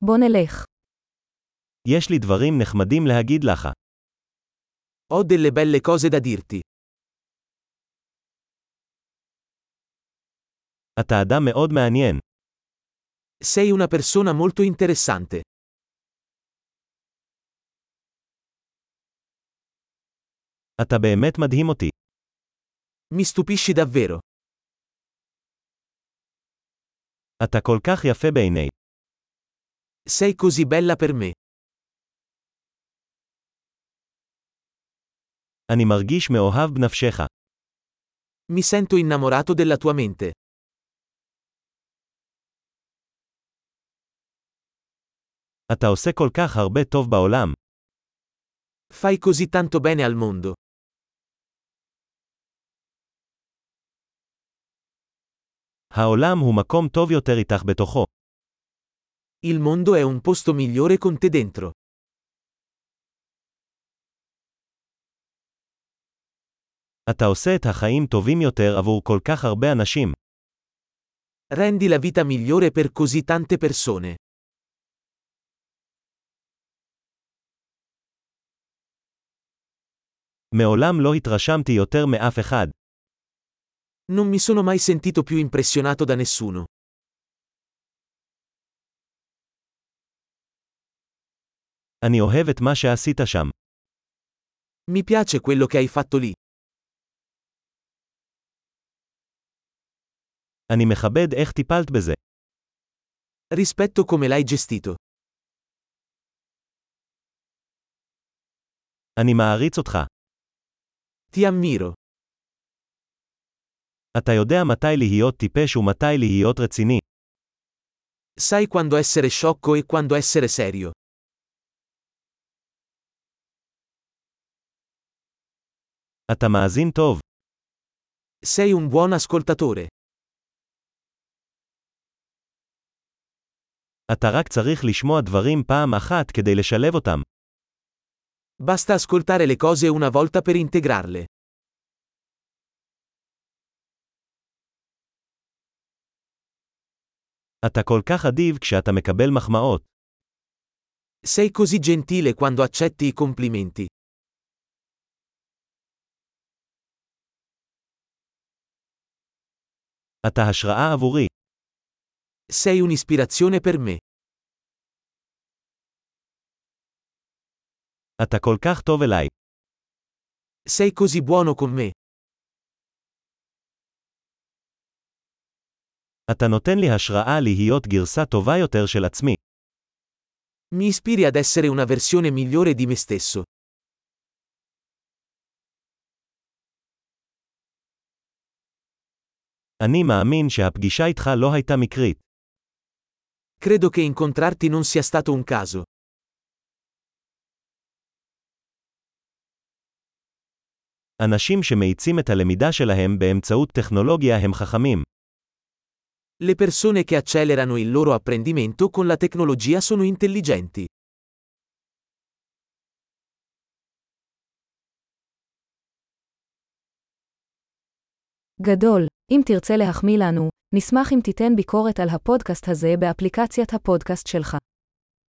בוא נלך. יש לי דברים נחמדים להגיד לך. Ho delle belle cose da dirti. אתה אדם מאוד מעניין. Sei una persona molto interessante. אתה באמת מדהים אותי. Mi stupisci davvero. אתה כל כך יפה בעיני. Sei così bella per me. אני מרגיש מאוהב בנפשך. Mi sento innamorato della tua mente. אתה עושה כל כך הרבה טוב בעולם. Fai così tanto bene al mondo. העולם הוא מקום טוב יותר איתך בתוכו. Il mondo è un posto migliore con te dentro. אתה עושה את החיים טובים יותר עבור כל כך הרבה אנשים. Rendi la vita migliore per così tante persone. מעולם לא התרשמתי יותר מאף אחד. Non mi sono mai sentito più impressionato da nessuno. אני אוהב את מה שעשית שם. Mi piace quello che hai fatto lì. אני מכבד איך טיפלת בזה. Rispetto come l'hai gestito. אני מעריץ אותך. Ti ammiro. אתה יודע מתי להיות טיפש ומתי להיות רציני. Sai quando essere sciocco e quando essere serio. אתה מאזין טוב. Sei un buon ascoltatore. אתה רק צריך לשמוע דברים פעם אחת כדי לשלב אותם. Basta ascoltare le cose una volta per integrarle. אתה כל כך אדיב כשאתה מקבל מחמאות. Sei così gentile quando accetti i complimenti. אתה השראה עבורי. Sei un'ispirazione per me. אתה כל כך טוב אליי. Sei così buono con me. אתה נותן לי השראה להיות גרסה טובה יותר של עצמי. Mi ispiri ad essere una versione migliore di me stesso. אני מאמין שהפגישה איתך לא הייתה מקרית. Credo che incontrarti non sia stato un caso. אנשים שמאיצים את הלמידה שלהם באמצעות טכנולוגיה הם חכמים. Le persone che accelerano il loro apprendimento con la tecnologia sono intelligenti. גדול. אם תרצה להחמיא לנו, נשמח אם תיתן ביקורת על הפודקאסט הזה באפליקציית הפודקאסט שלך.